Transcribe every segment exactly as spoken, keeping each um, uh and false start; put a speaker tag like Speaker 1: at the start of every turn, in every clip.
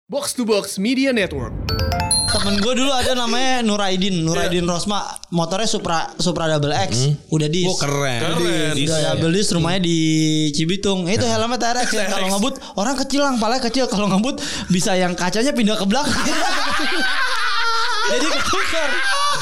Speaker 1: Box to Box Media Network.
Speaker 2: Temen gue dulu ada namanya Nuraidin Nuraidin yeah. Rosma. Motornya Supra Supra Double X hmm. Udah dis.
Speaker 3: Oh keren,
Speaker 2: keren. Udah double dis, rumahnya di Cibitung. Itu helmnya T R X ya. Kalau ngebut orang kecil lang, palanya kecil. Kalau ngebut bisa yang kacanya pindah ke belakang. Jadi ketukar.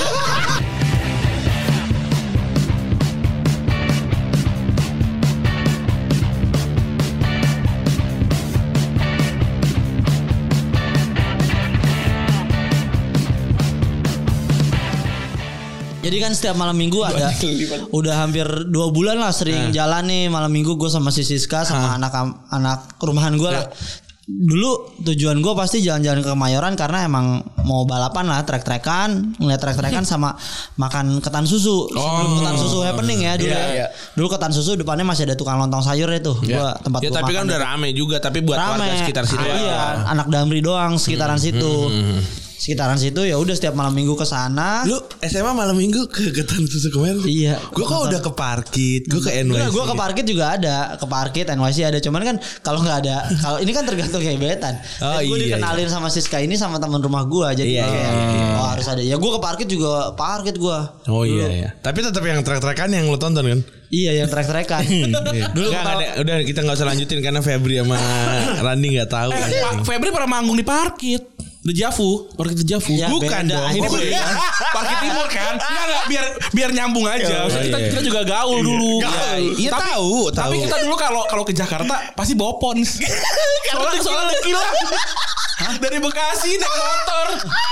Speaker 2: Jadi kan setiap malam minggu ada udah hampir dua bulan lah sering nah. jalan nih malam minggu gue sama si Siska sama nah. anak anak rumahan gue lah. Dulu tujuan gue pasti jalan-jalan ke Kemayoran karena emang mau balapan lah, trek-trekan, ngeliat trek-trekan sama makan ketan susu. Sebelum oh. ketan susu happening ya dulu. Yeah, ya. Yeah. Dulu ketan susu depannya masih ada tukang lontong sayur itu. Yeah. Gua tempat
Speaker 3: ya,
Speaker 2: gua
Speaker 3: tapi kan udah rame juga, tapi buat rame. Warga sekitar situ.
Speaker 2: Ah, iya, anak Damri doang sekitaran hmm. situ. Hmm. Sekitaran situ ya udah setiap malam minggu ke sana.
Speaker 3: Lu S M A malam minggu ke ketan susu kemarin?
Speaker 2: Iya.
Speaker 3: Gue kok udah ke Parkit, gue ke N Y C.
Speaker 2: Gue ke Parkit juga ada, ke Parkit N Y C ada. Cuman kan kalau nggak ada, kalau ini kan tergantung gebetan. Oh, gue iya, dikenalin iya. sama Siska ini sama teman rumah gue, jadi iya, kayak iya, iya. oh harus ada. Ya gue ke Parkit juga Parkit gue.
Speaker 3: Oh iya iya. Tapi tetap yang trek-trekan yang lu tonton kan?
Speaker 2: Iya yang trek-trekan.
Speaker 3: Dulu nggak ada, udah kita nggak usah lanjutin karena Febri sama Randi nggak tahu.
Speaker 4: Eh, Pak Febri pernah manggung di Parkit. The Javu, Parkit The Javu.
Speaker 2: Ya,
Speaker 3: bukan dong.
Speaker 4: Ini oh, iya. Parkit Timur kan? Enggak enggak biar biar nyambung aja. Oh, kita, iya. kita juga gaul dulu.
Speaker 3: Gaul. Iya
Speaker 4: tapi,
Speaker 3: tahu,
Speaker 4: tapi
Speaker 3: tahu.
Speaker 4: kita dulu kalau kalau ke Jakarta pasti bawa pons. Soalnya soalnya kilang. Dari Bekasi naik motor.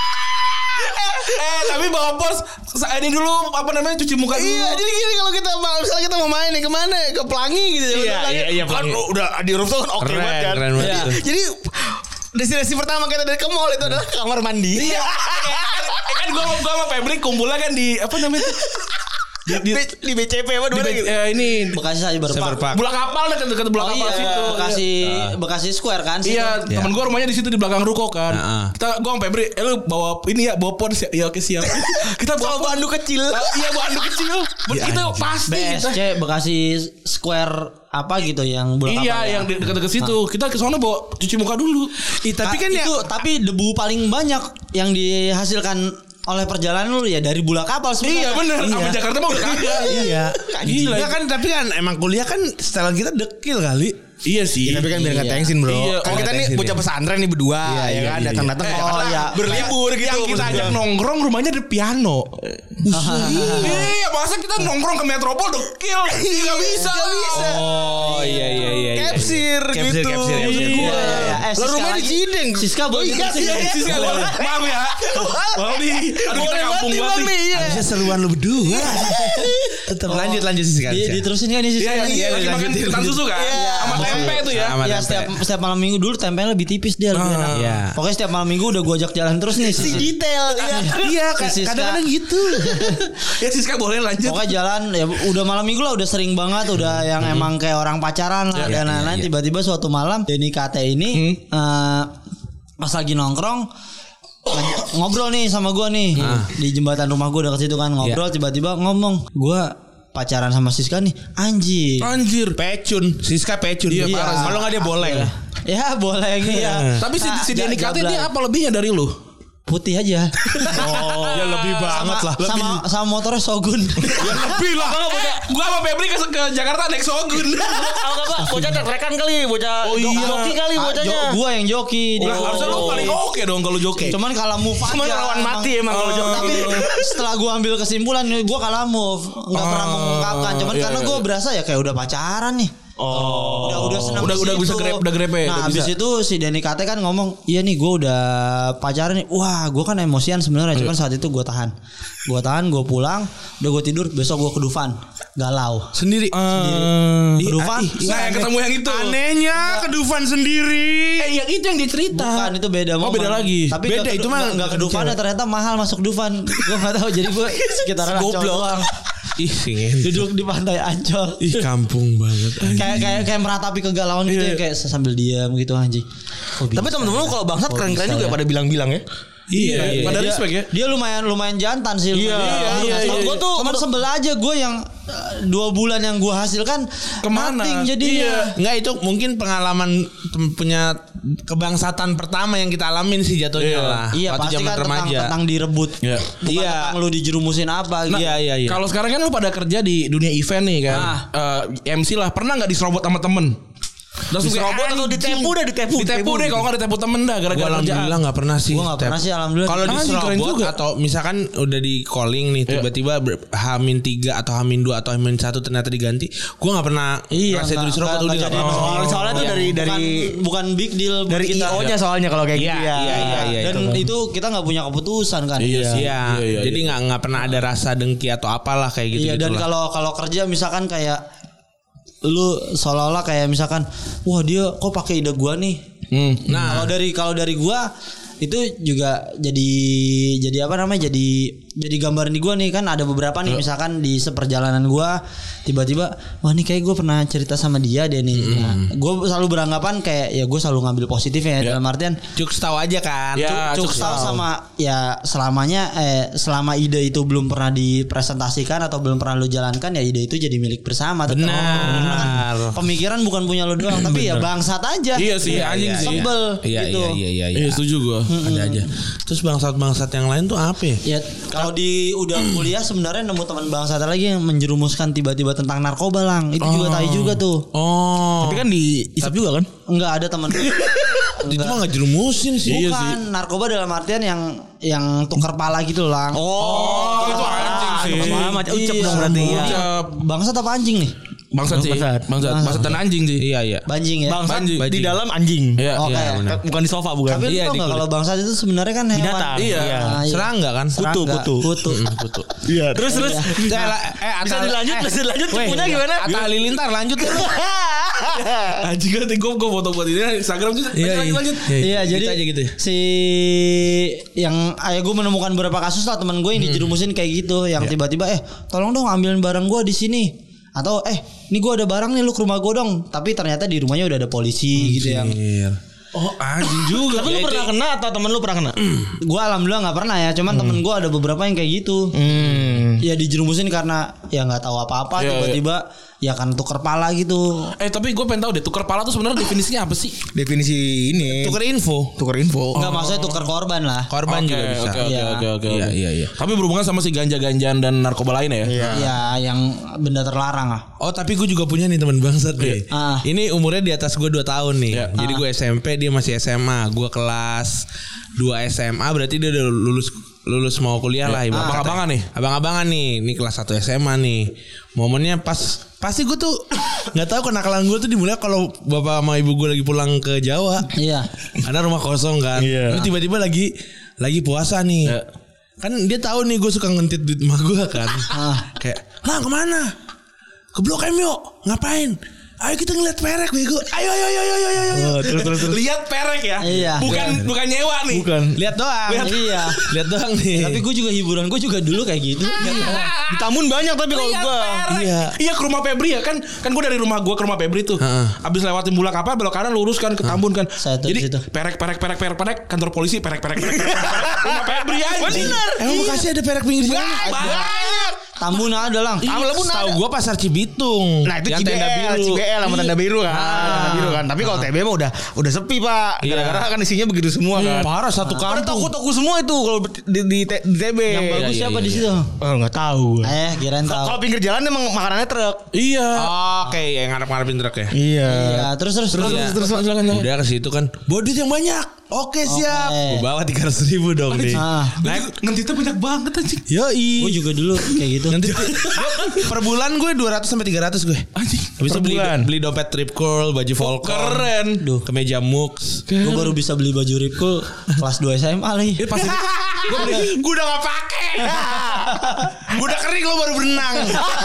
Speaker 4: eh, eh tapi bawa pos ini dulu apa namanya cuci muka dulu.
Speaker 3: Iya jadi gini kalau kita misalnya kita mau main nih kemana ke Pelangi gitu.
Speaker 4: Iya iya iya
Speaker 3: kan udah di rooftop kan oke okay banget kan.
Speaker 4: Keren banget.
Speaker 3: Ya. Jadi destinasi pertama kita dari ke mall itu adalah kamar mandi.
Speaker 4: Iya. Kan gua gua sama Febri kumpulnya kan di apa namanya itu?
Speaker 3: Di, di, di B C P apa
Speaker 4: di gitu? Eh, ini
Speaker 2: Bekasi Cyberpark.
Speaker 4: Bulak Kapal dekat dekat Bulak
Speaker 2: oh,
Speaker 4: Kapal
Speaker 2: iya,
Speaker 4: situ.
Speaker 2: Bekasi uh. Bekasi Square kan situ.
Speaker 4: Iya, yeah. teman gua rumahnya di situ di belakang ruko kan. Uh-uh. Kita gua sama Febri, eh lu bawa ini ya, bawa pons ya. Iya oke siap. Kita bawa bandu kecil. Iya bandu kecil. Itu pasti
Speaker 2: B S C Bekasi Square apa gitu yang
Speaker 4: Bulak Kapal. Iya, yang dekat-dekat situ. Kita ke sana bawa cuci muka dulu.
Speaker 2: Ih, tapi kan itu ya, tapi debu paling banyak yang dihasilkan oleh perjalanan lu ya dari Bulak Kapal sebenarnya.
Speaker 4: Iya benar. Iya. Sampai Jakarta mah udah kagak.
Speaker 3: Iya. Gila. Ya kan tapi kan emang kuliah kan setelan kita dekil kali.
Speaker 4: Iya sih.
Speaker 3: Ya, tapi kan biar enggak iya. tengsin, Bro.
Speaker 4: Iya.
Speaker 3: Kan oh, kita nih bocah pesantren nih berdua iya, ya kan iya, datang-datang
Speaker 4: iya.
Speaker 3: oh ya berlibur gitu.
Speaker 4: Yang kita ajak nongkrong rumahnya ada piano. Iya, masa kita nongkrong ke Metropol dekil. Enggak bisa.
Speaker 3: Enggak bisa.
Speaker 4: Oh iya iya iya.
Speaker 3: Capsir gitu.
Speaker 4: Capsir
Speaker 3: capsir. Lah rumahnya di Cideng.
Speaker 2: Siska boleh.
Speaker 4: Siska boleh. Maaf ya. Maaf nih. Aduh kita kampung banget nih.
Speaker 3: Bisa seruan lu berdua. Tetap lanjut lanjut Siska.
Speaker 2: Diterusin kan nih Siska.
Speaker 4: Iya, lanjutin makan susu kan. Sama tempe itu ya.
Speaker 2: Ya setiap setiap malam minggu dulu tempenya lebih tipis dia lebih enak. Iya. Pokoknya setiap malam minggu udah gue ajak jalan terus nih.
Speaker 3: Si detail. Iya, kadang-kadang gitu.
Speaker 4: Ya Siska boleh lanjut.
Speaker 2: Pokoknya jalan ya udah malam minggu lah udah sering banget udah yang emang kayak orang pacaran lah dan lain-lain. Tiba-tiba suatu malam Denny K T ini pas lagi nongkrong ngobrol nih sama gue nih di jembatan rumah gue dekat situ kan ngobrol tiba-tiba ngomong gue pacaran sama Siska nih anjir
Speaker 3: anjir pecun Siska pecun
Speaker 2: iya,
Speaker 3: iya. Kalau nggak dia boleng
Speaker 2: ya boleng ya
Speaker 4: tapi si, si Denny K T dia apa lebihnya dari lu
Speaker 2: putih aja.
Speaker 3: Oh, ya lebih banget
Speaker 2: sama,
Speaker 3: lah. Lebih.
Speaker 2: Sama sama motornya Shogun.
Speaker 4: Ya lebih lah. Gua sama Febri ke, ke Jakarta naik Shogun.
Speaker 5: Kalau enggak bocah trek-trekan kali, bocah
Speaker 4: oh, iya.
Speaker 5: joki kali bocahnya.
Speaker 2: Jo, gua yang joki.
Speaker 4: Oh, harusnya lu paling oke okay dong kalau joki.
Speaker 2: Cuman kalah move aja.
Speaker 5: Cuman lawan mati emang kalau joki.
Speaker 2: Tapi setelah gua ambil kesimpulan gua kalah move. Enggak pernah mengungkapkan. Cuman
Speaker 4: iya,
Speaker 2: karena
Speaker 4: iya.
Speaker 2: gua berasa ya kayak udah pacaran nih.
Speaker 4: Oh,
Speaker 2: udah udah senang
Speaker 4: udah udah bisa grab udah grepe.
Speaker 2: Nah habis itu si Denny K T kan ngomong, iya nih gue udah pacaran nih. Wah gue kan emosian sebenarnya, cuman saat itu gue tahan, gue tahan, gue pulang, udah gue tidur, besok gue ke Dufan, galau
Speaker 3: sendiri.
Speaker 2: Uh, sendiri. Ke Dufan.
Speaker 4: Nah yang ketemu yang itu.
Speaker 3: Anehnya ke Dufan sendiri.
Speaker 4: Eh yang itu yang dicerita.
Speaker 2: Bukan itu beda.
Speaker 4: Oh beda lagi.
Speaker 2: Tapi
Speaker 3: beda
Speaker 2: gak,
Speaker 3: itu mah
Speaker 2: nggak ke Dufan ya ternyata mahal masuk Dufan. Gue nggak tahu jadi gue sekitaran Ancol doang.
Speaker 3: Ih,
Speaker 2: duduk di pantai Ancol.
Speaker 3: Ih, kampung banget.
Speaker 2: Kayak kayak kayak meratapi kegalauan gitu ya, kayak sambil diam gitu anjing.
Speaker 5: Oh, tapi temen-temen lu kalau bangsat keren-keren juga ya? Pada bilang-bilang ya.
Speaker 3: Iya, iya.
Speaker 4: Pada
Speaker 2: dia,
Speaker 4: respect ya.
Speaker 2: Dia lumayan lumayan jantan sih.
Speaker 5: Iya,
Speaker 2: lumayan.
Speaker 5: iya, iya.
Speaker 2: Gue tuh cuman sebel aja gue yang uh, dua bulan yang gue hasilkan
Speaker 4: Kemana?
Speaker 2: nothing jadinya.
Speaker 3: Enggak, itu mungkin pengalaman tem- punya kebangsatan pertama yang kita alamin sih jatuhnya
Speaker 4: Iya.
Speaker 3: lah.
Speaker 2: Iya
Speaker 3: waktu
Speaker 2: pasti
Speaker 3: zaman
Speaker 2: kan tentang,
Speaker 3: remaja.
Speaker 2: tentang direbut.
Speaker 4: Iya.
Speaker 2: Bukan
Speaker 3: Iya.
Speaker 2: tentang lu dijerumusin apa gitu.
Speaker 3: Iya, iya, iya.
Speaker 4: Kalau sekarang kan lu pada kerja di dunia event nih kan.
Speaker 2: Ah.
Speaker 4: Eh, M C lah, pernah enggak diserobot sama temen? Langsung
Speaker 5: Diserobot
Speaker 4: kayak,
Speaker 5: atau
Speaker 4: anjing.
Speaker 5: ditepu dah, ditepu.
Speaker 4: Ditepu deh kalau enggak ditepu temen dah
Speaker 3: Gua
Speaker 4: gara-gara kerjaan.
Speaker 3: alhamdulillah nggak pernah sih.
Speaker 2: Gue gak pernah sih alhamdulillah.
Speaker 3: Kalau
Speaker 4: Anjing, keren
Speaker 3: diserobot
Speaker 4: juga.
Speaker 3: atau misalkan udah di calling nih tiba-tiba ber- Hamin tiga atau Hamin dua atau Hamin satu ternyata diganti, gue nggak pernah
Speaker 2: Iya,
Speaker 3: ngerasa itu
Speaker 2: nggak-
Speaker 3: diserobot
Speaker 2: nggak-
Speaker 3: udah
Speaker 2: nggak
Speaker 3: nggak
Speaker 2: jadi
Speaker 3: pernah.
Speaker 2: masalah.
Speaker 5: Soalnya soalnya tuh
Speaker 2: Iya.
Speaker 5: dari dari
Speaker 2: bukan, bukan big deal buat
Speaker 5: dari
Speaker 2: kita.
Speaker 5: I O-nya soalnya kalau kayak
Speaker 3: Iya,
Speaker 5: gitu ya.
Speaker 3: iya, iya, iya.
Speaker 2: Dan itu kita nggak punya keputusan kan.
Speaker 3: Iya,
Speaker 4: Iya,
Speaker 3: iya.
Speaker 4: iya,
Speaker 3: Jadi nggak nggak pernah ada rasa dengki atau apalah kayak gitu.
Speaker 2: Iya dan kalau kalau kerja misalkan kayak lu seolah-olah kayak misalkan wah dia kok pakai ide gua nih.
Speaker 4: Hmm.
Speaker 2: Nah, kalau dari kalau dari gua itu juga jadi jadi apa namanya jadi jadi gambaran di gua nih kan ada beberapa nih misalkan di seperjalanan gua tiba-tiba wah nih kayak gua pernah cerita sama dia deh nih. Nah, gua selalu beranggapan kayak ya gua selalu ngambil positifnya ya dalam artian
Speaker 3: Cuk tahu aja kan.
Speaker 4: Ya,
Speaker 2: cuk
Speaker 4: cuk
Speaker 2: tahu
Speaker 4: tahu.
Speaker 2: sama ya selamanya eh selama ide itu belum pernah dipresentasikan atau belum pernah lu jalankan ya ide itu jadi milik bersama. Tetap.
Speaker 3: Benar.
Speaker 2: Karena kan pemikiran bukan punya lu doang tapi ya bangsat aja.
Speaker 4: Iya sih, anjing
Speaker 3: Iya,
Speaker 4: sih.
Speaker 2: Sebel
Speaker 3: Iya,
Speaker 2: gitu.
Speaker 3: iya, iya, iya, iya.
Speaker 4: Iya, setuju gua.
Speaker 3: Ada aja. Terus bangsat-bangsat yang lain tuh apa ya?
Speaker 2: Ya kalau di udah kuliah sebenarnya nemu teman bangsat lagi yang menjerumuskan tiba-tiba tentang narkoba lang. Itu juga tai juga tuh.
Speaker 3: Oh.
Speaker 5: Tapi kan diisap juga kan?
Speaker 2: Enggak ada teman.
Speaker 3: itu mah nggak jerumusin sih.
Speaker 4: Iya
Speaker 2: Bukan narkoba dalam artian yang yang tukar pala gitu lang.
Speaker 4: Oh, itu anjing sih.
Speaker 5: Malah macam ucap dong berarti ya.
Speaker 4: Ucap.
Speaker 2: Bangsat apa anjing nih?
Speaker 4: Bangsat sih.
Speaker 5: Bangsat.
Speaker 4: Bangsat. Bangsat dan anjing sih.
Speaker 3: Iya, iya.
Speaker 2: Banjing ya.
Speaker 5: Bangsat
Speaker 4: Banjing.
Speaker 5: di dalam anjing.
Speaker 4: Iya.
Speaker 2: Oke.
Speaker 3: Iya, benar.
Speaker 5: Bukan di sofa bukan.
Speaker 2: Tapi lu
Speaker 3: Iya,
Speaker 2: tau
Speaker 3: di
Speaker 2: gak
Speaker 3: kulit.
Speaker 2: kalau bangsat itu sebenarnya kan hewan.
Speaker 5: Binatang.
Speaker 4: Iya.
Speaker 2: Nah, iya.
Speaker 3: Serangga kan?
Speaker 5: Kutu,
Speaker 2: Serangga.
Speaker 5: kutu.
Speaker 2: Kutu.
Speaker 3: Kutu.
Speaker 5: Iya, terus terus.
Speaker 3: Eh, lah, eh,
Speaker 5: Bisa
Speaker 3: Atta-
Speaker 5: dilanjut,
Speaker 3: eh,
Speaker 5: bisa dilanjut
Speaker 3: weh,
Speaker 5: cepunya gimana?
Speaker 3: Atta Halilintar lanjut ya.
Speaker 4: Anjing kan gue gue foto buat ini Instagram juga.
Speaker 3: Iya,
Speaker 4: Lanjut,
Speaker 3: iya.
Speaker 4: lanjut.
Speaker 2: Iya
Speaker 3: Gitu
Speaker 2: jadi
Speaker 3: aja gitu ya.
Speaker 2: si yang ayah gue menemukan beberapa kasus lah teman gue yang dijerumusin kayak gitu yang tiba-tiba eh tolong dong ambilin barang gue di sini atau eh ini gue ada barang nih lu ke rumah gue dong tapi ternyata di rumahnya udah ada polisi gitu yang
Speaker 3: Anjir.
Speaker 4: Oh, anjing juga.
Speaker 5: Tapi lu pernah kena atau temen lu pernah kena?
Speaker 2: gue alhamdulillah nggak pernah ya cuman temen gue ada beberapa yang kayak gitu
Speaker 5: Hmm.
Speaker 2: ya dijerumusin karena ya nggak tahu apa-apa
Speaker 4: Iya,
Speaker 2: tiba-tiba ya kan tuker pala gitu.
Speaker 4: Eh tapi gue pengen tahu deh tukar pala tuh sebenarnya definisinya apa sih?
Speaker 5: Definisi ini.
Speaker 3: Tukar info.
Speaker 5: Tukar info.
Speaker 2: Enggak maksudnya tuker korban lah.
Speaker 3: Korban
Speaker 4: Oke,
Speaker 3: juga bisa.
Speaker 4: Oke oke
Speaker 2: Iya.
Speaker 4: oke oke.
Speaker 3: Iya, iya, iya.
Speaker 4: Tapi berhubungan sama si ganja-ganjaan dan narkoba lain ya?
Speaker 5: Iya.
Speaker 2: Ya yang benda terlarang lah.
Speaker 3: Oh tapi gue juga punya nih teman bangsat nih.
Speaker 2: Ah.
Speaker 3: Ini umurnya di atas gue dua tahun nih.
Speaker 4: Iya.
Speaker 3: Jadi gue S M P dia masih S M A. Gue kelas dua S M A berarti dia udah lulus lulus mau kuliah lah. ibarat kata.
Speaker 4: Abang-abangan nih?
Speaker 3: Abang-abangan nih. Ini kelas satu S M A nih. Momennya pas pasti gue tuh nggak tahu kenakalan gue tuh dimulai kalau bapak sama ibu gue lagi pulang ke Jawa.
Speaker 2: Iya.
Speaker 3: Karena rumah kosong kan.
Speaker 5: Iya.
Speaker 3: Terus tiba-tiba lagi lagi puasa nih.
Speaker 4: Iya.
Speaker 3: Kan dia tahu nih gue suka ngentit duit emak gue kan.
Speaker 2: Ah.
Speaker 3: Kayak, "Lah kemana? Ke Blok M yuk. Ngapain? Ayo kita ngeliat perek bego. Ayo ayo ayo ayo ayo ayo."
Speaker 5: Oh, terus terus terus.
Speaker 4: Lihat perek ya?
Speaker 2: Iya.
Speaker 4: Bukan bukan nyewa nih.
Speaker 5: Bukan.
Speaker 3: Lihat doang.
Speaker 2: Iya.
Speaker 3: Lihat doang nih.
Speaker 2: Tapi gue juga hiburan gue juga dulu kayak gitu.
Speaker 5: Di Tamun banyak tapi kalau
Speaker 4: Lihat
Speaker 5: gua.
Speaker 4: perek.
Speaker 3: Iya.
Speaker 4: Iya ke rumah Febri ya kan. Kan gue dari rumah gue ke rumah Febri tuh.
Speaker 3: Heeh.
Speaker 4: Abis lewatin bulak apa belok kanan lurus kan ke Tambun kan.
Speaker 2: Saya tuh
Speaker 4: Jadi
Speaker 2: di situ.
Speaker 4: perek perek perek perek perek kantor polisi perek perek perek perek. perek. Rumah Febri aja. Bener.
Speaker 3: Emang Bekasi ada perek pinggir jalan?
Speaker 4: Banyak.
Speaker 2: Tambun ada lang.
Speaker 3: Tahu gue pasar Cibitung.
Speaker 5: Nah itu
Speaker 3: Yang
Speaker 5: C B
Speaker 3: tenda
Speaker 5: L,
Speaker 3: biru.
Speaker 5: C B L sama tenda biru kan,
Speaker 2: Ah.
Speaker 5: tenda biru kan. Tapi kalau T B mah udah udah sepi pak,
Speaker 3: Iya.
Speaker 5: gara-gara kan isinya begitu semua kan.
Speaker 3: Parah satu
Speaker 5: Ada
Speaker 3: kampung.
Speaker 5: toko-toko semua itu kalau di di, T- di T B.
Speaker 2: Yang bagus
Speaker 3: iya,
Speaker 2: siapa
Speaker 3: iya,
Speaker 2: di
Speaker 3: iya.
Speaker 2: situ?
Speaker 5: Oh nggak tahu. gua.
Speaker 2: Eh, kirain tahu.
Speaker 5: Kalau pinggir jalan emang makanannya truk.
Speaker 4: Iya.
Speaker 3: Oke, yang ngarep-ngarepin truk ya.
Speaker 5: Iya.
Speaker 2: Iya, terus terus terus.
Speaker 3: Iya.
Speaker 4: Terus silakan.
Speaker 3: Udah ke situ kan. Bodit yang banyak. Oke siap.
Speaker 2: Oke.
Speaker 3: Gue bawa tiga ratus ribu dong nih.
Speaker 2: Ah,
Speaker 4: Naik ngentitnya banyak banget anjing.
Speaker 3: Yoi.
Speaker 2: gue juga dulu kayak gitu.
Speaker 3: Nanti per bulan gue dua ratus sampai tiga ratus gue.
Speaker 4: Anjing.
Speaker 3: Habis itu
Speaker 5: Per
Speaker 3: beli
Speaker 5: bulan.
Speaker 3: beli dompet Trip Curl, baju Volcom.
Speaker 4: Keren.
Speaker 2: Duh,
Speaker 3: Kemeja Mux.
Speaker 2: gue baru bisa beli baju Ripcool kelas dua S M A lagi.
Speaker 4: Ini pasti gue beli.
Speaker 3: Gue udah gak pakai. Gue udah kering lo baru berenang.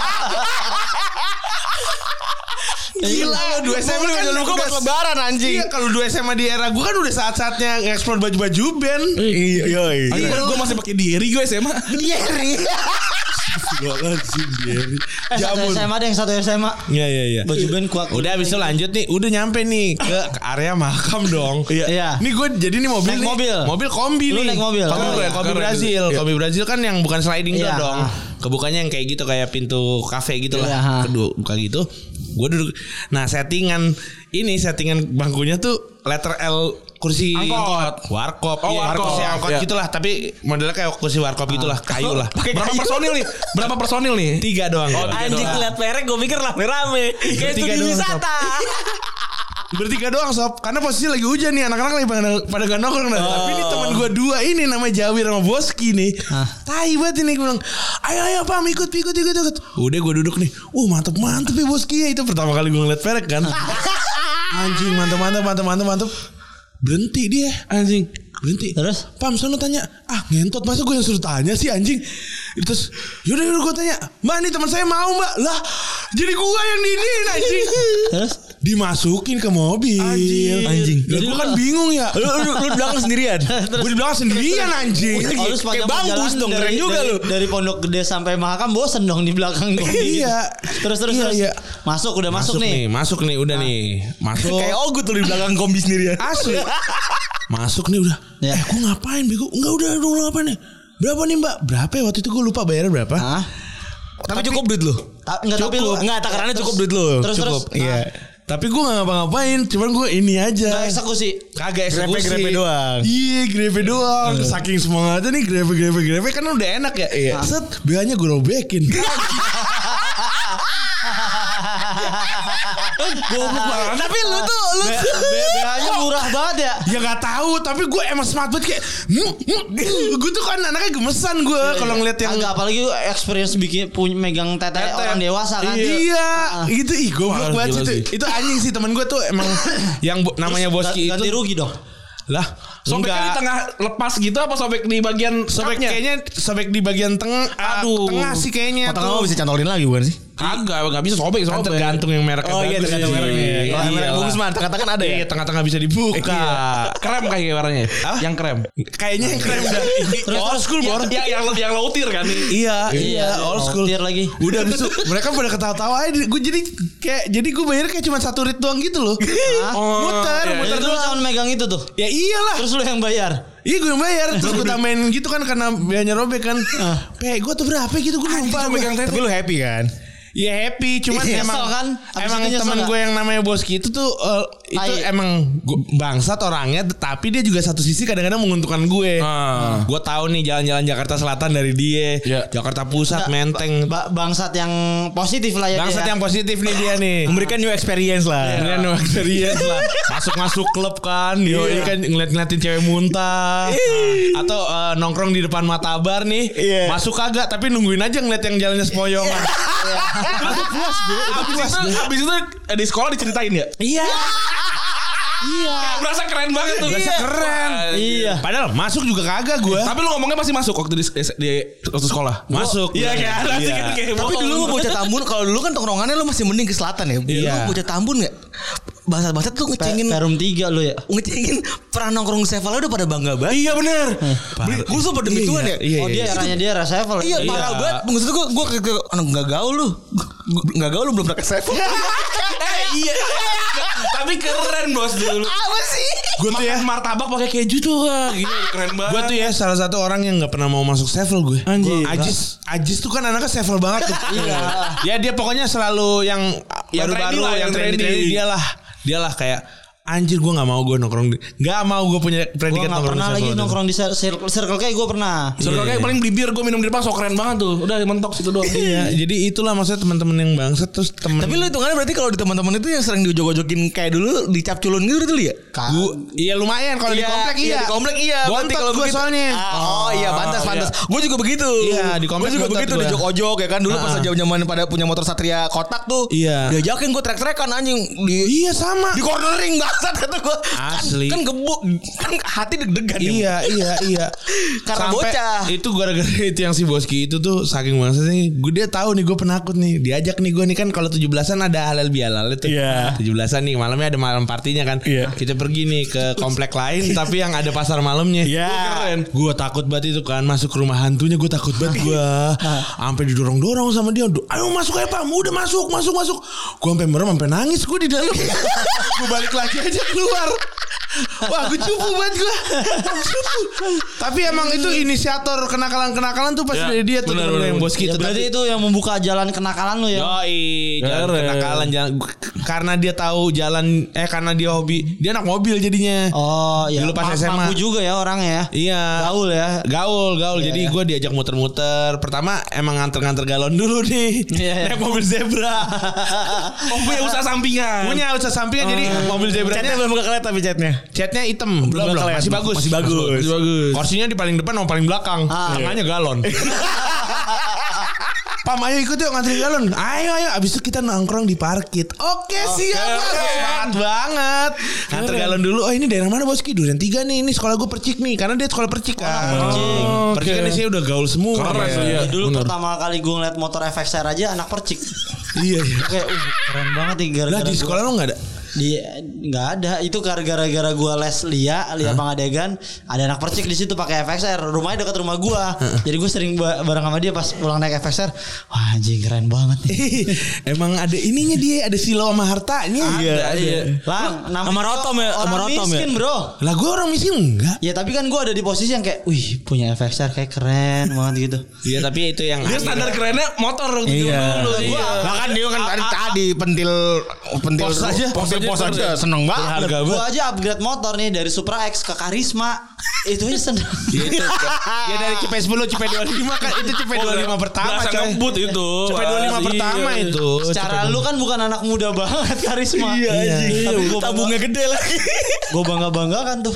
Speaker 3: Gila lo dua S M A
Speaker 5: Kan
Speaker 3: udah
Speaker 5: gua pas lebaran anjing.
Speaker 3: Iya kalau dua S M A di era gue kan udah saat-saatnya nge-explore baju-baju band.
Speaker 5: Iya, yoi.
Speaker 4: Anjing gue masih pakai diri gue S M A.
Speaker 5: Iya,
Speaker 3: Astagfirullahaladzim dia.
Speaker 2: Eh satu S M A deh yang satu S M A.
Speaker 3: Iya iya iya.
Speaker 2: Baju band kuat.
Speaker 3: Udah abis itu lanjut nih, udah nyampe nih ke, ke area makam dong.
Speaker 2: Iya.
Speaker 3: Nih gue jadi nih mobil
Speaker 2: Naik
Speaker 3: nih,
Speaker 2: mobil.
Speaker 3: mobil kombi
Speaker 2: Lu
Speaker 3: nih.
Speaker 2: naik mobil.
Speaker 3: Kombi,
Speaker 2: Oh,
Speaker 3: kombi
Speaker 4: keren.
Speaker 3: Brazil,
Speaker 4: Iya.
Speaker 3: kombi Brazil kan yang bukan sliding door
Speaker 2: Iya.
Speaker 3: dong. Kebukanya yang kayak gitu kayak pintu kafe gitu
Speaker 2: Iya.
Speaker 3: lah. Kedua buka gitu. Gue duduk. Nah settingan ini settingan bangkunya tuh letter L kursi
Speaker 4: Angkot.
Speaker 3: warkop.
Speaker 4: Oh,
Speaker 3: Iya,
Speaker 4: warkop.
Speaker 3: kursi angkot
Speaker 4: Iya.
Speaker 3: gitulah, tapi modelnya kayak kursi warkop gitulah, kayu lah.
Speaker 4: Berapa personil nih? Berapa personil nih?
Speaker 3: Tiga doang.
Speaker 4: Oh,
Speaker 3: gua.
Speaker 5: Anjing liat perek gue pikir rame-rame. Kayak
Speaker 3: Bertiga
Speaker 5: studi
Speaker 3: doang,
Speaker 5: wisata.
Speaker 3: Bertiga doang sob, karena posisi lagi hujan nih, anak-anak lagi pada pada gak nongkrong. Nah. Tapi ini teman gue dua ini namanya Jawir sama Boski nih. Tai banget ini, gue bilang, ayo ayo pam ikut ikut ikut ikut. Udah gue duduk nih, uh mantep mantep ya Boski ya, itu pertama kali gue ngeliat perek kan. Anjing mantep mantep mantep mantep mantep. Berhenti dia anjing. Berhenti.
Speaker 2: Terus?
Speaker 3: Pam sono tanya, ah ngentot masa gue yang suruh tanya sih anjing. Terus yaudah yaudah gue tanya, mbak nih teman saya mau mbak. Lah jadi gue yang diinin anjing.
Speaker 2: Terus?
Speaker 3: Dimasukin ke mobil.
Speaker 2: Anjing.
Speaker 5: Anjing.
Speaker 3: Jadi gue kan bingung ya.
Speaker 5: Lu lu lu di belakang sendirian.
Speaker 3: Gue di belakang sendirian anjing.
Speaker 2: Oh, lu sepanjang
Speaker 5: Kayak bangkus
Speaker 2: perjalanan
Speaker 5: dong,
Speaker 2: dari-
Speaker 5: keren juga
Speaker 2: dari-
Speaker 5: lu.
Speaker 2: Dari Pondok Gede sampai Mahakam bosen dong di belakang gua.
Speaker 3: Iya.
Speaker 2: Terus terus
Speaker 3: Iya,
Speaker 2: terus.
Speaker 3: iya.
Speaker 2: Masuk udah masuk, nih.
Speaker 3: Masuk nih, udah nih. Masuk.
Speaker 5: Kayak Ogut tuh di belakang kombi sendirian.
Speaker 3: Asli. Masuk nih udah.
Speaker 2: Ya.
Speaker 3: Eh gue ngapain bego? Enggak udah udah udah ngapain nih? Berapa nih mbak? Berapa ya waktu itu gue lupa bayarnya berapa?
Speaker 2: Hah?
Speaker 5: Tapi cukup duit lu.
Speaker 2: Ta- enggak tapi lu
Speaker 5: Enggak, takarannya cukup duit lu.
Speaker 2: Terus
Speaker 5: Cukup.
Speaker 2: terus.
Speaker 5: Iya.
Speaker 3: Tapi gue gak ngapa-ngapain. Cuman gue ini aja.
Speaker 2: Enggak eksekusi.
Speaker 3: Kagak eksekusi.
Speaker 5: Grepe-grepe doang.
Speaker 3: Iya grepe doang. Saking semangatnya nih grepe grepe grepe kan udah enak ya. Iya. Set B A-nya gue robekin.
Speaker 2: Goblok banget.
Speaker 5: Tapi lu tuh lu
Speaker 2: B A-nya murah banget ya.
Speaker 3: Ya gak tahu, tapi gue emang smart banget kayak hmm, hmm. Gue tuh kan anaknya gemesan gue kalau ngeliat yang
Speaker 2: Agak apalagi experience bikin punya megang tete orang dewasa kan.
Speaker 3: Iya, gitu ih gue
Speaker 4: Wah,
Speaker 3: banget
Speaker 4: gila
Speaker 3: itu.
Speaker 4: sih.
Speaker 3: Itu anjing sih teman gue tuh emang yang bo- namanya Boski
Speaker 2: Ganti
Speaker 3: itu.
Speaker 2: rugi dong.
Speaker 3: Lah,
Speaker 4: Sobeknya di
Speaker 3: enggak.
Speaker 4: tengah lepas gitu apa sobek di bagian
Speaker 3: Sobek
Speaker 4: cupnya?
Speaker 3: kayaknya sobek di bagian tengah.
Speaker 4: Aduh.
Speaker 3: Tengah sih kayaknya
Speaker 5: Potong
Speaker 3: tuh.
Speaker 5: apa bisa cantolin lagi bukan sih?
Speaker 4: Kagak, enggak bisa sobek,
Speaker 3: Kan
Speaker 4: sobek.
Speaker 3: tergantung yang mereknya
Speaker 5: Oh iya
Speaker 3: bagus
Speaker 5: tergantung
Speaker 3: sih.
Speaker 5: mereknya. Kalau
Speaker 3: Iya
Speaker 5: merek
Speaker 3: lah.
Speaker 5: bagus mah tengah-tengah ada ya.
Speaker 3: Iya, tengah-tengah bisa dibuka.
Speaker 4: Iya. Krem kayak warnanya. Yang krem.
Speaker 3: Kayaknya yang keren udah.
Speaker 2: Terus
Speaker 3: Old
Speaker 2: terus
Speaker 3: school, Bor.
Speaker 4: Ya, yang yang low tier kan.
Speaker 3: Iya, iya, old school.
Speaker 2: Tier lagi.
Speaker 3: Udah abis itu mereka pada ketawa-tawa aja. Gue jadi kayak jadi gue bayar kayak cuma satu rit doang gitu loh.
Speaker 4: Oh,
Speaker 3: muter,
Speaker 4: iya,
Speaker 3: muter
Speaker 2: Jadi lu
Speaker 3: doang.
Speaker 2: cuma megang itu tuh.
Speaker 3: Ya iyalah.
Speaker 2: Terus lu yang bayar.
Speaker 3: Iya gue yang bayar. Terus gue tambahin gitu kan karena biayanya robek kan. Pe gue tuh berapa gitu gue lupa.
Speaker 4: cuma megang
Speaker 5: Tapi lu happy kan?
Speaker 3: Iya happy. Cuman
Speaker 2: Nyesel
Speaker 3: emang
Speaker 2: kan? Abis
Speaker 3: emang
Speaker 2: itu nyesel
Speaker 3: teman
Speaker 2: gak?
Speaker 3: gue yang namanya Boski itu tuh uh, itu
Speaker 2: Tai.
Speaker 3: emang gua- bangsat orangnya. Tapi dia juga satu sisi kadang-kadang menguntungkan gue.
Speaker 4: Ah.
Speaker 3: Gue tahu nih jalan-jalan Jakarta Selatan dari dia.
Speaker 4: Iya.
Speaker 3: Jakarta Pusat,
Speaker 2: Nggak,
Speaker 3: Menteng.
Speaker 2: ba- bangsat yang positif lah ya.
Speaker 3: Bangsat
Speaker 2: dia.
Speaker 3: yang positif nih dia nih.
Speaker 5: Memberikan new experience lah.
Speaker 3: Ini no experience lah. Masuk-masuk klub kan. Yo, ini kan ngeliat-ngeliatin cewek muntah. Atau eh, nongkrong di depan Matabar nih.
Speaker 5: Iya.
Speaker 3: Masuk kagak tapi nungguin aja ngeliat yang jalannya sepoyongan. Udah puas gue, udah
Speaker 4: Abis
Speaker 3: puas
Speaker 4: itu,
Speaker 3: gue.
Speaker 4: abis itu eh, di sekolah diceritain ya.
Speaker 3: Iya.
Speaker 4: Iya. Berasa keren banget tuh.
Speaker 3: Berasa keren.
Speaker 2: Iya.
Speaker 3: Padahal masuk juga kagak gue.
Speaker 4: Tapi lu ngomongnya pasti masuk waktu di, di waktu sekolah.
Speaker 3: Masuk.
Speaker 4: Iya kayak ada sih
Speaker 3: Iya.
Speaker 4: kan kayak
Speaker 5: Tapi
Speaker 4: bohong.
Speaker 5: dulu lu bocah Tambun, kalau dulu kan tongkrongannya lu masih mending ke selatan ya. Dulu
Speaker 3: Iya.
Speaker 5: bocah Tambun enggak? Bahasa-bahasa tuh
Speaker 2: Pe-
Speaker 5: ngecengin
Speaker 2: Perum tiga lu ya.
Speaker 5: ngecengin pernah nongkrong Sevel udah pada bangga banget.
Speaker 3: Iya bener.
Speaker 5: Gue tuh pada demituan ya.
Speaker 3: Iya,
Speaker 2: Oh dia eranya dia era Sevel.
Speaker 5: Iya parah banget. Maksud gue gue ke anak enggak gaul lu. Enggak gaul lu belum pernah ke Sevel.
Speaker 4: Eh, iya. Tapi keren bos dulu.
Speaker 5: Apa sih?
Speaker 3: Gue tuh ya.
Speaker 4: Makan martabak pakai keju tuh. Wah, gila keren banget.
Speaker 3: Gue tuh ya salah satu orang yang gak pernah mau masuk Sevel gue.
Speaker 4: Anjir.
Speaker 3: Gua- Ajis, Ajis tuh kan anaknya Sevel banget tuh.
Speaker 2: Iya.
Speaker 3: Ya dia pokoknya selalu yang
Speaker 4: Yang
Speaker 3: baru-baru
Speaker 4: trendy lah,
Speaker 3: yang
Speaker 4: yang
Speaker 3: trendy,
Speaker 4: trendy.
Speaker 3: dia lah. Dia lah kayak anjir gue gak mau gue nongkrong di, gak mau gue punya
Speaker 2: Gue
Speaker 3: predikat
Speaker 2: gak
Speaker 3: nongkrong
Speaker 2: pernah
Speaker 3: di
Speaker 2: lagi
Speaker 3: Sevel.
Speaker 2: nongkrong di cir- circle, circle kayak gue pernah.
Speaker 4: Soalnya kayak paling beli bir gue minum di depan so keren banget tuh. Udah mentok situ doang.
Speaker 3: Iya, jadi itulah maksudnya teman-teman yang bangsat terus temen.
Speaker 5: Tapi lu hitungannya berarti kalau di teman-teman itu yang sering diujok-ujokin kayak dulu dicap culun gitu dulu ya?
Speaker 3: Gua, iya lumayan kalau di komplek iya.
Speaker 5: Di komplek iya. Berarti
Speaker 3: Bontot
Speaker 5: kalau
Speaker 3: gue
Speaker 5: begitu-
Speaker 3: soalnya.
Speaker 5: Ah, oh iya pantas
Speaker 3: Oh,
Speaker 5: pantas. Gue juga begitu.
Speaker 3: Iya, di komplek
Speaker 5: Gue juga
Speaker 3: bontot
Speaker 5: begitu
Speaker 3: gua.
Speaker 5: dijok-ojok ya kan dulu pas
Speaker 3: Ah.
Speaker 5: zaman-zaman pada punya motor Satria kotak tuh.
Speaker 3: Iya.
Speaker 5: Diajakin gue trek-trekan anjing di
Speaker 3: Iya sama.
Speaker 5: di cornering bang. Bangsat kata gue.
Speaker 3: Asli.
Speaker 5: Kan, kan gebuk, kan hati deg-degan.
Speaker 3: Iya iya iya.
Speaker 5: Karena bocah.
Speaker 3: Itu gara-gara itu yang si Boski itu tuh saking bangsatnya. Gue dia tahu nih gue penakut nih. Diajak nih gue nih kan kalau tujuh belasan ada halal bihalal itu.
Speaker 4: Iya.
Speaker 3: tujuh belasan nih malamnya ada malam partinya kan.
Speaker 4: Iya.
Speaker 3: Kita pergi nih ke komplek lain tapi yang ada pasar malamnya.
Speaker 4: Iya.
Speaker 3: Keren. Gue takut banget itu kan masuk ke rumah hantunya gue takut banget gue. Sampai didorong-dorong sama dia. Ayo masuk aja Pak. Udah masuk masuk masuk. Gue sampai merem sampai nangis gue di dalam. Gue balik lagi aja keluar. Wah gue cupu banget gue. Cupu. Tapi emang itu inisiator kenakalan-kenakalan tuh pasti
Speaker 4: Ya,
Speaker 3: dari dia tuh
Speaker 4: benar,
Speaker 3: temen
Speaker 4: benar,
Speaker 3: yang
Speaker 4: benar.
Speaker 3: bos kita.
Speaker 2: Ya, berarti itu yang membuka jalan kenakalan lu ya.
Speaker 3: Yoi, jalan
Speaker 4: Keren.
Speaker 3: kenakalan jalan karena dia tahu jalan eh karena dia hobi dia anak mobil jadinya.
Speaker 2: Oh iya.
Speaker 3: Dulu pas
Speaker 2: Ma-
Speaker 3: S M A.
Speaker 2: Mampu juga ya orangnya ya.
Speaker 3: Iya.
Speaker 2: Gaul ya.
Speaker 3: Gaul, gaul.
Speaker 2: Iya,
Speaker 3: Jadi
Speaker 2: iya.
Speaker 3: gue diajak muter-muter. Pertama emang nganter-nganter galon dulu nih.
Speaker 2: Iya, iya.
Speaker 3: Naik mobil zebra.
Speaker 4: Oh punya usaha sampingan.
Speaker 3: Punya usaha sampingan jadi mobil
Speaker 5: Catnya
Speaker 3: zebranya
Speaker 5: belum buka kelihatan tapi catnya.
Speaker 3: catnya hitam. Belum, belum.
Speaker 5: kelihatan.
Speaker 3: Masih bagus.
Speaker 5: Masih bagus.
Speaker 3: Masih bagus. Kursinya di paling depan sama paling belakang.
Speaker 2: Ah.
Speaker 3: Tengahnya galon. Pam ayo ikut yuk ngantri galon. Ayo ayo abis itu kita nongkrong di parkit. Oke siap Mas. Semangat banget. Nganter galon dulu. Oh ini daerah mana Boski? Duren tiga nih. Ini sekolah gue Percik nih. Karena dia sekolah Percik kan.
Speaker 2: Percik.
Speaker 3: Oh, Percik kan isinya udah gaul semua.
Speaker 4: Keren tuh, iya.
Speaker 2: Dulu pertama kali gue ngeliat motor F X R aja anak Percik.
Speaker 3: Iya iya.
Speaker 2: Kayak uh, keren banget nih gara-gara
Speaker 3: Lah di
Speaker 2: gua-
Speaker 3: sekolah lo gak ada?
Speaker 2: di nggak ada itu gara-gara gue les Lia Lia Pangadegan ada anak Percik di situ pakai F X R rumahnya dekat rumah gue jadi gue sering ba- bareng sama dia pas pulang naik F X R wah anjing keren banget nih.
Speaker 3: Emang ada ininya dia. Ada silo sama hartanya.
Speaker 5: Iya, iya.
Speaker 2: Lang nama
Speaker 5: Sama Rotom ya,
Speaker 2: orang
Speaker 5: sama Rotom ya.
Speaker 2: miskin bro
Speaker 3: Lah gue orang miskin enggak?
Speaker 2: ya tapi kan gue ada di posisi yang kayak wih punya F X R kayak keren banget gitu.
Speaker 3: Iya tapi itu yang
Speaker 4: Dia standar kerennya motor waktu
Speaker 5: Iya.
Speaker 4: dulu.
Speaker 2: Iya.
Speaker 5: Nah kan dia kan tadi tadi pentil pentil
Speaker 3: Pos aja.
Speaker 5: pentil pos
Speaker 4: Pos
Speaker 5: aja
Speaker 4: aja.
Speaker 5: seneng banget.
Speaker 3: Harga
Speaker 2: Gue
Speaker 3: banget.
Speaker 2: aja upgrade motor nih dari Supra X ke Karisma itu aja seneng.
Speaker 3: Ya itu. Ya dari C P sepuluh C P dua puluh lima kan itu C P dua puluh lima pertama
Speaker 4: Berasa
Speaker 3: coy.
Speaker 4: ngebut itu.
Speaker 3: C P dua puluh lima
Speaker 4: Iya.
Speaker 3: pertama itu.
Speaker 2: Secara lu kan bukan anak muda banget Karisma.
Speaker 5: Iya, anjing.
Speaker 2: Tapi gue
Speaker 5: Tabungnya gede lagi.
Speaker 2: gue bangga banggakan tuh.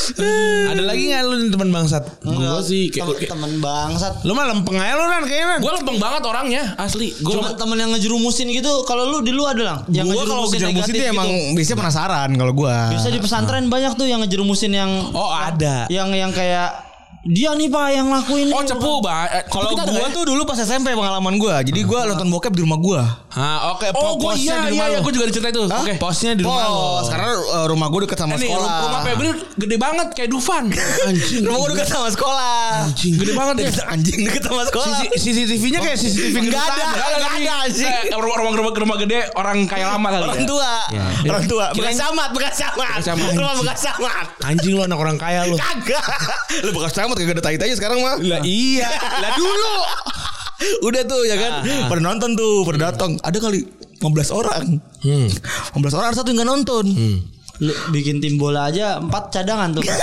Speaker 3: Ada lagi nggak lu nih teman bangsat?
Speaker 4: Gue sih kayak
Speaker 2: Tem- temen bangsat.
Speaker 3: Lu mah lempeng aja lu kan kayaknya.
Speaker 4: gue lempeng banget orangnya asli. Gue
Speaker 2: Cuma temen yang ngejerumusin gitu. Kalau lu di lu ada lang. Yang
Speaker 5: Gua kalau
Speaker 2: ngejerumusin
Speaker 5: kejar musik
Speaker 2: negatif
Speaker 5: itu emang
Speaker 2: gitu.
Speaker 5: biasanya penasaran kalau gua.
Speaker 2: Biasa di pesantren banyak tuh yang ngejerumusin yang.
Speaker 3: Oh ada.
Speaker 2: Yang yang kayak dia nih pak yang lakuin.
Speaker 4: oh
Speaker 2: ini,
Speaker 4: cepu
Speaker 2: Pak.
Speaker 4: bah. Eh,
Speaker 5: Kalau
Speaker 4: kita ada
Speaker 5: gua
Speaker 4: nggak ya?
Speaker 5: tuh dulu pas S M P pengalaman gua. Jadi gua nonton bokep di rumah gua.
Speaker 3: Ah oke.
Speaker 4: Oh gue
Speaker 3: posnya
Speaker 4: iya
Speaker 3: di
Speaker 4: iya
Speaker 3: rumah
Speaker 4: iya
Speaker 3: lu.
Speaker 4: gue juga diceritain itu. Oke.
Speaker 3: Posnya di rumah lu.
Speaker 5: Pos, karena uh, rumah gua dekat sama
Speaker 4: Ini
Speaker 5: sekolah.
Speaker 4: rumah Febri gede banget kayak Dufan.
Speaker 3: Anjing.
Speaker 5: Rumah gua dekat sama sekolah.
Speaker 3: Anjing.
Speaker 4: Gede banget ya.
Speaker 5: Deket- anjing dekat sama sekolah.
Speaker 3: C C T V-nya kayak C C T V
Speaker 5: Enggak ada,
Speaker 3: kedutaan.
Speaker 5: enggak ada anjing.
Speaker 4: Eh, rumah rumah rumah rumah gede orang kaya lama kali
Speaker 5: Orang
Speaker 4: ya.
Speaker 5: tua, orang tua, bekas
Speaker 4: Kirain-
Speaker 5: camat, bekas camat,
Speaker 4: Bekas camat.
Speaker 5: rumah bekas camat.
Speaker 3: Anjing lu anak orang kaya lu.
Speaker 5: Kagak, lu bekas camat kagak ada tai-tainya sekarang mah.
Speaker 3: Lah iya. Lah dulu.
Speaker 5: Udah tuh ya kan, pada nonton tuh, pada datang. Ada kali lima belas orang,
Speaker 3: Hmm.
Speaker 5: lima belas orang ada satu yang nggak nonton.
Speaker 2: Lu bikin tim bola aja empat cadangan tuh.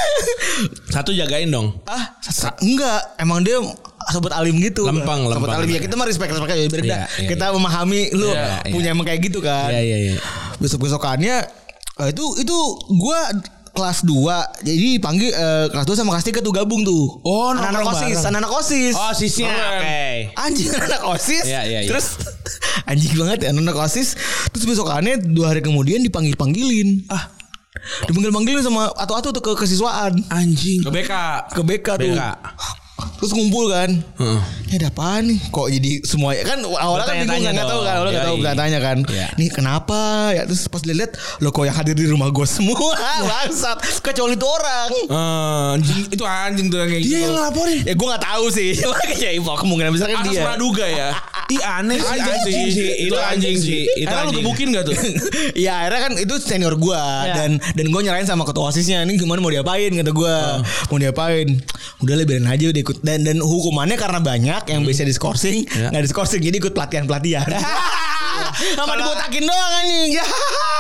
Speaker 3: Satu jagain dong.
Speaker 5: Ah, sa- enggak, emang dia sobat alim gitu.
Speaker 3: Lempeng,
Speaker 5: sobat
Speaker 3: lempeng.
Speaker 5: alim ya kita mah respect respect aja biar
Speaker 3: Iya,
Speaker 5: dah.
Speaker 3: iya,
Speaker 5: Kita memahami lu
Speaker 3: Iya, iya.
Speaker 5: punya emang kayak gitu kan.
Speaker 3: Iya iya iya.
Speaker 5: Besok besokannya itu itu gua kelas dua jadi panggil eh, kelas dua sama kelas tiga tuh gabung tuh.
Speaker 3: Oh,
Speaker 5: anak-anak
Speaker 3: nongkrong
Speaker 5: OSIS,
Speaker 3: bareng.
Speaker 5: anak-anak OSIS.
Speaker 3: Oh sisnya.
Speaker 4: Keren.
Speaker 3: Oke.
Speaker 5: Anjing anak OSIS.
Speaker 3: Iya, iya, iya.
Speaker 5: Terus anjing banget ya anak OSIS. Terus besokannya dua hari kemudian dipanggil-panggilin. Ah. Dipanggil-panggilin sama atu-atu tuh ke kesiswaan.
Speaker 3: Anjing.
Speaker 4: Ke B K.
Speaker 5: Ke B K tuh.
Speaker 3: B K.
Speaker 5: Terus ngumpul kan.
Speaker 3: Heeh.
Speaker 5: Ini ada apaan nih? Kok jadi semuanya kan awalnya kan bingung
Speaker 3: Bertanya-tanya
Speaker 5: nggak tahu kan, awalnya nggak tahu
Speaker 3: dong.
Speaker 5: bertanya kan.
Speaker 3: Iya.
Speaker 5: Nih kenapa ya? Terus pas dilihat lo kok yang hadir di rumah gue semua bangsat kecuali itu orang.
Speaker 4: Anjing itu anjing tuh yang kayak
Speaker 3: Dia
Speaker 4: gitu.
Speaker 3: yang ngelaporin.
Speaker 5: Ya gue nggak tahu sih. Cuma kayak info kemungkinan besar kan
Speaker 4: Atas
Speaker 5: dia.
Speaker 4: praduga ya.
Speaker 3: Ih aneh sih
Speaker 4: Anjing
Speaker 3: anjing
Speaker 4: sih.
Speaker 3: sih. Itu anjing sih. Itu
Speaker 4: Karena lu
Speaker 3: anjing.
Speaker 4: gebukin gak tuh?
Speaker 5: Iya akhirnya kan itu senior gue dan dan gue nyerahin sama ketua osisnya ini gimana mau diapain kata gue mau diapain udah lah biarin aja udah ikut dan dan hukumannya karena banyak yang biasa diskorsing nggak diskorsing jadi ikut pelatihan pelatihan sama dibotakin doang anjing ya.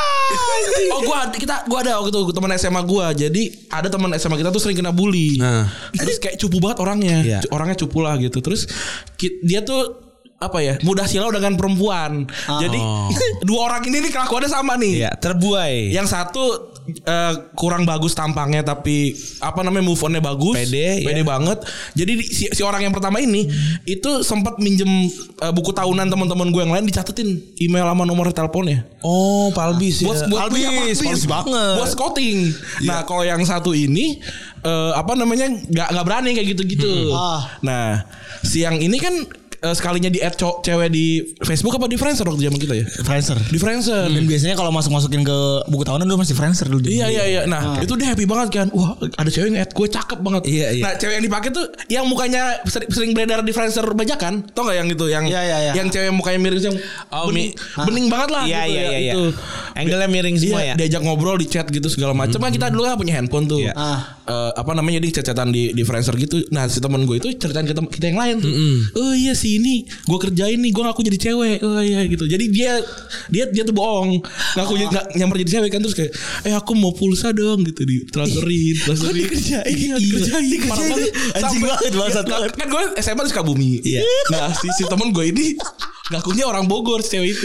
Speaker 4: Oh gua kita gua ada waktu itu teman S M A gua. Jadi ada teman S M A kita tuh sering kena bully.
Speaker 3: Nah.
Speaker 4: Terus kayak cupu banget orangnya.
Speaker 3: Iya.
Speaker 4: Orangnya cupu lah gitu. Terus ki- dia tuh apa ya mudah silau dengan perempuan. Jadi dua orang ini nih kelakuannya sama nih.
Speaker 3: Iya, terbuai.
Speaker 4: Yang satu uh, kurang bagus tampangnya tapi apa namanya move on-nya bagus,
Speaker 3: Pede,
Speaker 4: pede
Speaker 3: ya.
Speaker 4: banget. Jadi si, si orang yang pertama ini itu sempat minjem uh, buku tahunan teman-teman gue yang lain dicatetin email sama nomor teleponnya.
Speaker 3: Oh, Palbis ya.
Speaker 4: Buat buat
Speaker 5: Palbis,
Speaker 4: iya,
Speaker 5: Palbis banget.
Speaker 4: Buat scouting. Nah, kalau yang satu ini uh, apa namanya nggak nggak berani kayak gitu-gitu.
Speaker 2: Hmm. Ah.
Speaker 4: Nah, si yang ini kan uh, sekalinya di add co- cewek di Facebook apa di Friendster waktu zaman kita ya?
Speaker 5: Friendster.
Speaker 4: Di Friendster.
Speaker 5: Dan biasanya kalau masuk-masukin ke buku tahunan dulu masih Friendster dulu.
Speaker 4: Iya iya iya. Nah, itu dia happy banget kan. Wah, ada cewek yang add gue cakep banget.
Speaker 3: Iya, iya.
Speaker 4: Nah, cewek yang dipakai tuh yang mukanya sering, sering beredar di Friendster bajakan. Tau gak yang itu yang
Speaker 2: Iya, iya, iya.
Speaker 4: yang cewek yang mukanya miring yang
Speaker 3: Oh,
Speaker 4: bening,
Speaker 3: mi-
Speaker 4: bening banget lah
Speaker 3: Iya
Speaker 4: gitu
Speaker 3: iya
Speaker 4: ya,
Speaker 3: iya.
Speaker 4: itu.
Speaker 3: Angle-nya miring semua
Speaker 4: Iya,
Speaker 3: ya.
Speaker 4: diajak ngobrol di chat gitu segala macam. Kan kita dulu kan punya handphone tuh.
Speaker 3: Iya.
Speaker 2: Ah.
Speaker 4: Eh, apa namanya di chat-chatan di di Friendster gitu. Nah, si teman gue itu ceritain ke tem- kita yang lain tuh. Oh iya si ini gue kerjain nih, gue ngaku jadi cewek. Oh iya gitu. Jadi dia dia dia tuh bohong. Ngaku
Speaker 2: Oh.
Speaker 4: nggak nyamper jadi cewek kan terus kayak eh aku mau pulsa dong gitu di transferin, transferin.
Speaker 3: dikerjain?
Speaker 4: Iya, dikerjain. Parah banget.
Speaker 5: Anjing
Speaker 4: Sampai-
Speaker 5: banget, bangsat
Speaker 4: Nah,
Speaker 5: banget.
Speaker 4: kan gue S M A di Sukabumi.
Speaker 3: Iya.
Speaker 4: Nah, si si teman gue ini ngakunya orang Bogor si cewek itu.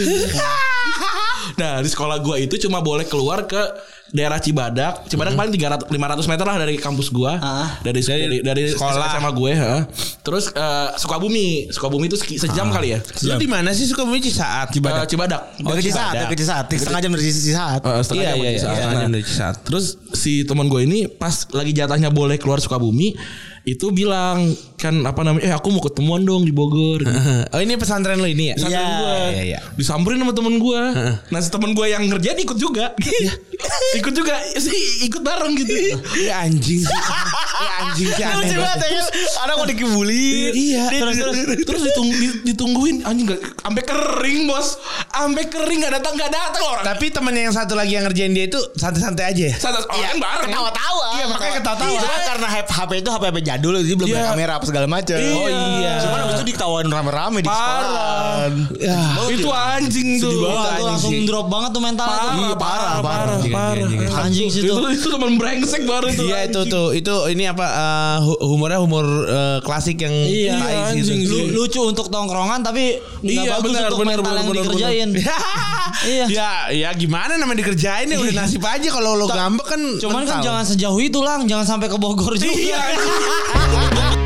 Speaker 4: Nah, di sekolah gue itu cuma boleh keluar ke daerah Cibadak. Cibadak paling tiga ratus lima ratus meter lah dari kampus gue.
Speaker 2: Ah.
Speaker 4: Dari dari dari
Speaker 3: sekolah.
Speaker 4: S M A gue, ha. Terus eh, Sukabumi. Sukabumi itu seki- sejam kali ya.
Speaker 3: Lu di mana sih Sukabumi Cisaat?
Speaker 4: Cibadak. Cibadak.
Speaker 5: Oh, ke Cisaat, ke Cisaat. Setengah jam dari Cisaat.
Speaker 4: Eh, setengah
Speaker 3: Iya
Speaker 4: jam
Speaker 3: iya
Speaker 4: dari
Speaker 3: iya.
Speaker 4: Cisaat.
Speaker 3: Setengah jam
Speaker 4: Nah,
Speaker 3: dari Cisaat.
Speaker 4: Terus si teman gue ini pas lagi jatahnya boleh keluar Sukabumi itu bilang kan apa namanya eh aku mau ketemuan dong di Bogor gitu.
Speaker 3: Oh, ini pesantren lu ini ya?
Speaker 4: Pesantren
Speaker 5: Iya,
Speaker 4: gue
Speaker 3: iya, iya.
Speaker 4: disamperin sama temen gue. Nah si temen gue yang ngerjain ikut juga. Ikut juga sih ikut bareng gitu.
Speaker 3: Iya anjing sih. Iya anjing sih aneh
Speaker 5: Lucu
Speaker 3: banget.
Speaker 5: banget ya kan. Anak mau dikibulin.
Speaker 4: Iya. Terus terus, terus ditung, di- ditungguin anjing gak sampai kering bos. Sampai kering gak datang gak datang orang.
Speaker 3: Tapi temennya yang satu lagi yang ngerjain dia itu santai-santai aja ya?
Speaker 4: Santai oh, kan bareng.
Speaker 5: Ketawa-tawa.
Speaker 3: Iya, makanya ketawa-tawa.
Speaker 5: Iya, cuma karena H P itu H P H P jadul jadi belum
Speaker 4: Iya.
Speaker 5: ada kamera apa segala macam.
Speaker 4: Oh, iya.
Speaker 5: Cuman abis itu diketawain rame-rame di
Speaker 4: Parah.
Speaker 5: sekolah.
Speaker 3: Ya.
Speaker 4: Itu anjing tuh.
Speaker 2: Wah, itu langsung drop banget tuh mentalnya tuh.
Speaker 4: Parah, parah, parah,
Speaker 3: Anjing,
Speaker 4: parah.
Speaker 3: anjing, anjing.
Speaker 2: Anjing sih
Speaker 4: Itu
Speaker 2: tuh.
Speaker 4: itu teman brengsek baru itu.
Speaker 3: Iya itu tuh itu ini apa eh, hu- humornya humor eh, klasik yang
Speaker 2: Iya,
Speaker 3: tai sih itu.
Speaker 4: anjing.
Speaker 2: Lu- lucu untuk tongkrongan tapi nggak
Speaker 4: Iya,
Speaker 2: bagus
Speaker 4: benar,
Speaker 2: untuk
Speaker 4: benar,
Speaker 2: mental
Speaker 4: benar,
Speaker 2: yang
Speaker 4: benar,
Speaker 2: dikerjain. Iya.
Speaker 3: Ya ya gimana namanya dikerjain ya udah nasib aja kalau lo ngambek kan
Speaker 2: Cuman kan
Speaker 3: mental.
Speaker 2: jangan sejauh itu lang, jangan sampai ke Bogor juga.
Speaker 4: Iya.